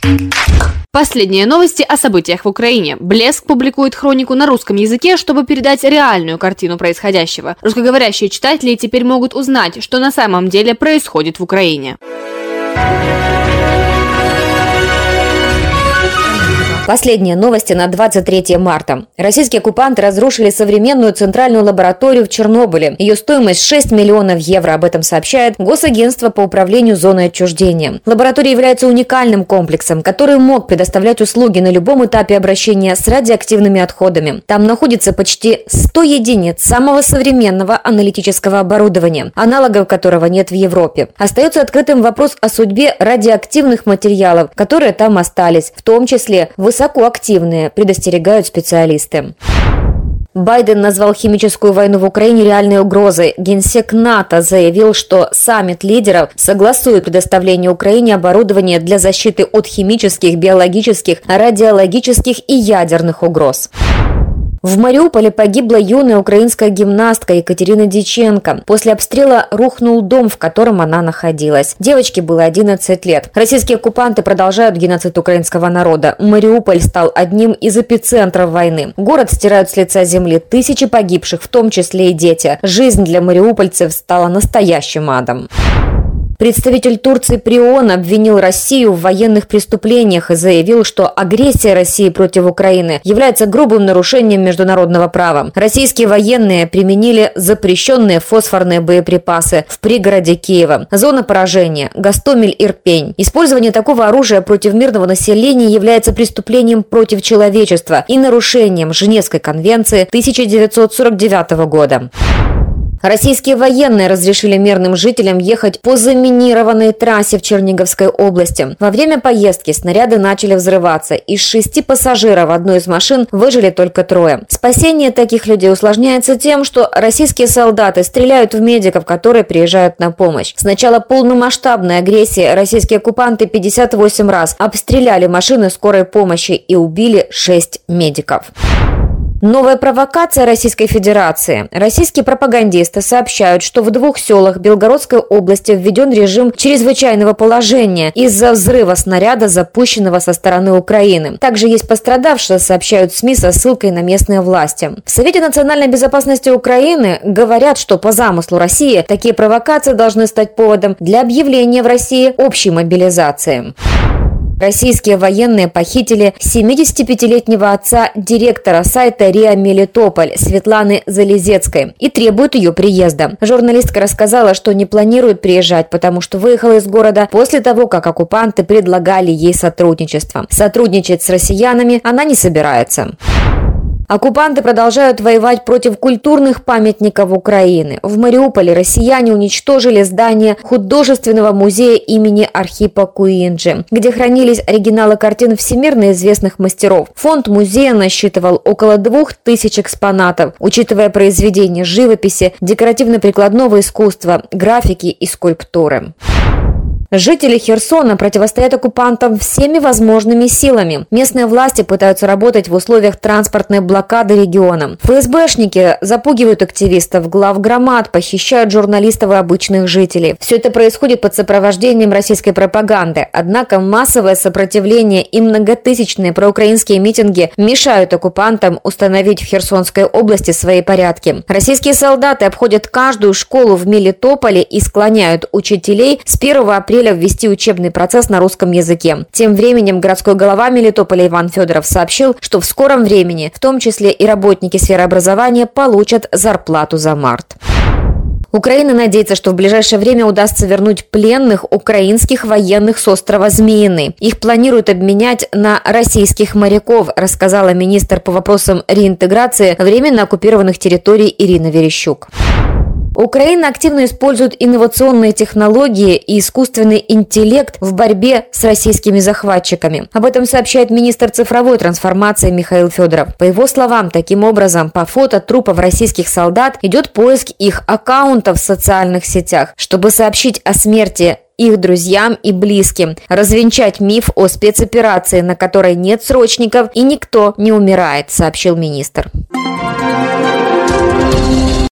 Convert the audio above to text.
Последние новости о событиях в Украине. Блеск публикует хронику на русском языке, чтобы передать реальную картину происходящего. Русскоговорящие читатели теперь могут узнать, что на самом деле происходит в Украине. Последние новости на 23 марта. Российские оккупанты разрушили современную центральную лабораторию в Чернобыле. Ее стоимость 6 миллионов евро. Об этом сообщает Госагентство по управлению зоной отчуждения. Лаборатория является уникальным комплексом, который мог предоставлять услуги на любом этапе обращения с радиоактивными отходами. Там находится почти 100 единиц самого современного аналитического оборудования, аналогов которого нет в Европе. Остается открытым вопрос о судьбе радиоактивных материалов, которые там остались, в том числе высокоактивные, предостерегают специалисты. Байден назвал химическую войну в Украине реальной угрозой. Генсек НАТО заявил, что саммит лидеров согласует предоставление Украине оборудования для защиты от химических, биологических, радиологических и ядерных угроз. В Мариуполе погибла юная украинская гимнастка Екатерина Диченко. После обстрела рухнул дом, в котором она находилась. Девочке было 11 лет. Российские оккупанты продолжают геноцид украинского народа. Мариуполь стал одним из эпицентров войны. Город стирают с лица земли тысячи погибших, в том числе и дети. Жизнь для мариупольцев стала настоящим адом. Представитель Турции при ООН обвинил Россию в военных преступлениях и заявил, что агрессия России против Украины является грубым нарушением международного права. Российские военные применили запрещенные фосфорные боеприпасы в пригороде Киева. Зона поражения – Гостомель-Ирпень. Использование такого оружия против мирного населения является преступлением против человечества и нарушением Женевской конвенции 1949 года. Российские военные разрешили мирным жителям ехать по заминированной трассе в Черниговской области. Во время поездки снаряды начали взрываться. Из 6 пассажиров одной из машин выжили только 3. Спасение таких людей усложняется тем, что российские солдаты стреляют в медиков, которые приезжают на помощь. С начала полномасштабной агрессии российские оккупанты 58 раз обстреляли машины скорой помощи и убили 6 медиков. Новая провокация Российской Федерации. Российские пропагандисты сообщают, что в 2 селах Белгородской области введен режим чрезвычайного положения из-за взрыва снаряда, запущенного со стороны Украины. Также есть пострадавшие, сообщают СМИ со ссылкой на местные власти. В Совете национальной безопасности Украины говорят, что по замыслу России такие провокации должны стать поводом для объявления в России общей мобилизации. Российские военные похитили 75-летнего отца директора сайта РИА Мелитополь Светланы Залезецкой и требуют ее приезда. Журналистка рассказала, что не планирует приезжать, потому что выехала из города после того, как оккупанты предлагали ей сотрудничество. Сотрудничать с россиянами она не собирается. Оккупанты продолжают воевать против культурных памятников Украины. В Мариуполе россияне уничтожили здание художественного музея имени Архипа Куинджи, где хранились оригиналы картин всемирно известных мастеров. Фонд музея насчитывал около 2000 экспонатов, учитывая произведения живописи, декоративно-прикладного искусства, графики и скульптуры. Жители Херсона противостоят оккупантам всеми возможными силами. Местные власти пытаются работать в условиях транспортной блокады региона. ФСБшники запугивают активистов, главгромад, похищают журналистов и обычных жителей. Все это происходит под сопровождением российской пропаганды. Однако массовое сопротивление и многотысячные проукраинские митинги мешают оккупантам установить в Херсонской области свои порядки. Российские солдаты обходят каждую школу в Мелитополе и склоняют учителей с 1 апреля ввести учебный процесс на русском языке. Тем временем городской глава Мелитополя Иван Федоров сообщил, что в скором времени, в том числе и работники сферы образования, получат зарплату за март. Украина надеется, что в ближайшее время удастся вернуть пленных украинских военных с острова Змеиный. Их планируют обменять на российских моряков, рассказала министр по вопросам реинтеграции временно оккупированных территорий Ирина Верещук. Украина активно использует инновационные технологии и искусственный интеллект в борьбе с российскими захватчиками. Об этом сообщает министр цифровой трансформации Михаил Федоров. По его словам, таким образом, по фото трупов российских солдат идет поиск их аккаунтов в социальных сетях, чтобы сообщить о смерти их друзьям и близким, развенчать миф о спецоперации, на которой нет срочников и никто не умирает, сообщил министр.